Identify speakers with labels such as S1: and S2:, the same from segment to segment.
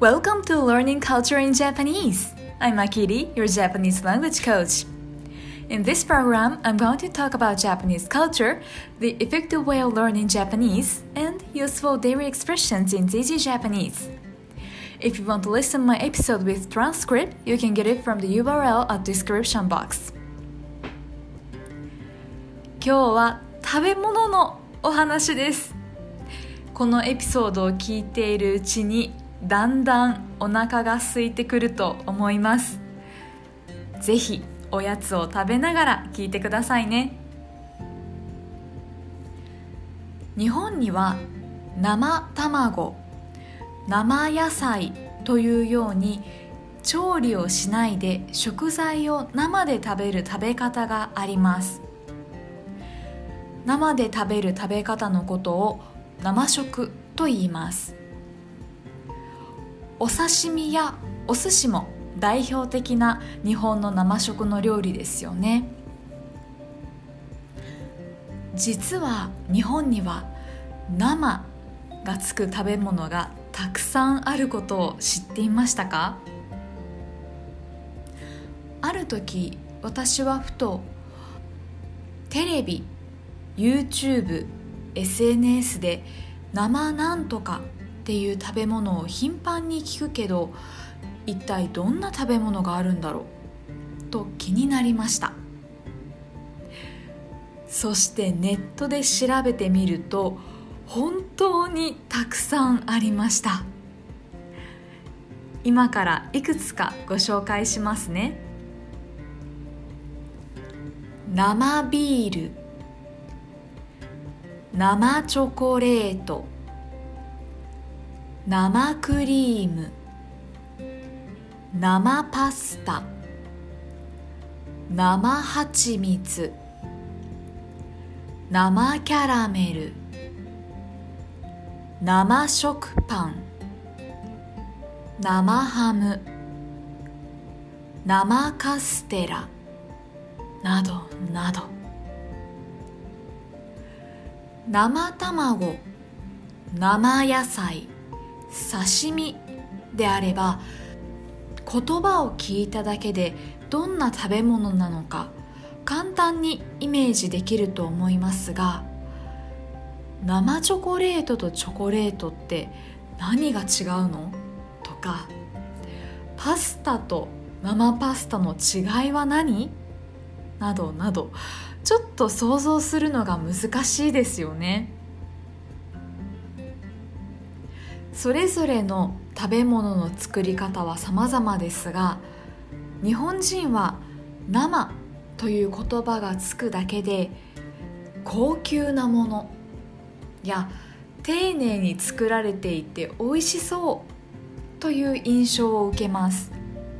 S1: Welcome to Learning Culture in Japanese. I'm Akiri, your Japanese language coach. In this program, I'm going to talk about Japanese culture, the effective way of learning Japanese, and useful daily expressions in easy Japanese. If you want to listen my episode with transcript, you can get it from the URL at description box. 今日は食べ物のお話です。このエピソードを聞いているうちにだんだんお腹が空いてくると思います。ぜひおやつを食べながら聞いてくださいね。日本には生卵、生野菜というように調理をしないで食材を生で食べる食べ方があります。生で食べる食べ方のことを生食と言います。お刺身やお寿司も代表的な日本の生食の料理ですよね。実は日本には生がつく食べ物がたくさんあることを知っていましたか？ある時私はふとテレビ、YouTube、SNS で生なんとかっていう食べ物を頻繁に聞くけど、一体どんな食べ物があるんだろうと気になりました。そしてネットで調べてみると本当にたくさんありました。今からいくつかご紹介しますね。生ビール、生チョコレート、生クリーム、生パスタ、生蜂蜜、生キャラメル、生食パン、生ハム、生カステラなどなど。生卵、生野菜、刺身であれば言葉を聞いただけでどんな食べ物なのか簡単にイメージできると思いますが、生チョコレートとチョコレートって何が違うの？とか、パスタと生パスタの違いは何？などなど、ちょっと想像するのが難しいですよね。それぞれの食べ物の作り方は様々ですが、日本人は生という言葉がつくだけで高級なものや丁寧に作られていて美味しそうという印象を受けます。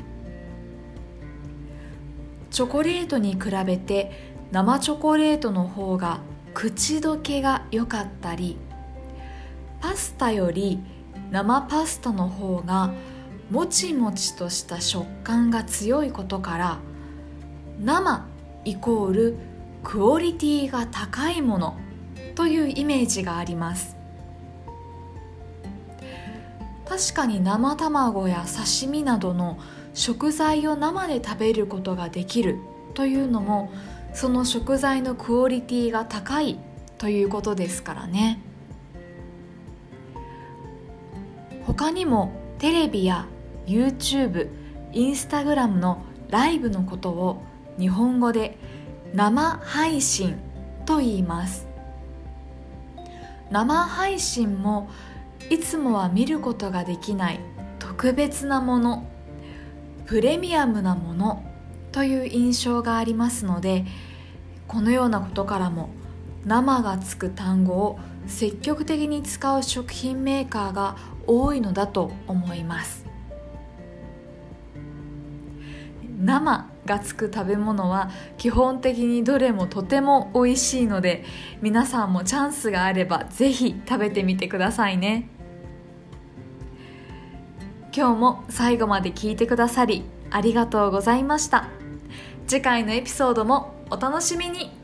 S1: チョコレートに比べて生チョコレートの方が口どけが良かったり、パスタより生パスタの方がもちもちとした食感が強いことから、生イコールクオリティが高いものというイメージがあります。確かに生卵や刺身などの食材を生で食べることができるというのも、その食材のクオリティが高いということですからね。他にもテレビや YouTube、Instagram のライブのことを日本語で生配信と言います。生配信もいつもは見ることができない特別なもの、プレミアムなものという印象がありますので、このようなことからも生がつく単語を積極的に使う食品メーカーが多いのだと思います。生がつく食べ物は基本的にどれもとても美味しいので、皆さんもチャンスがあればぜひ食べてみてくださいね。今日も最後まで聞いてくださりありがとうございました。次回のエピソードもお楽しみに。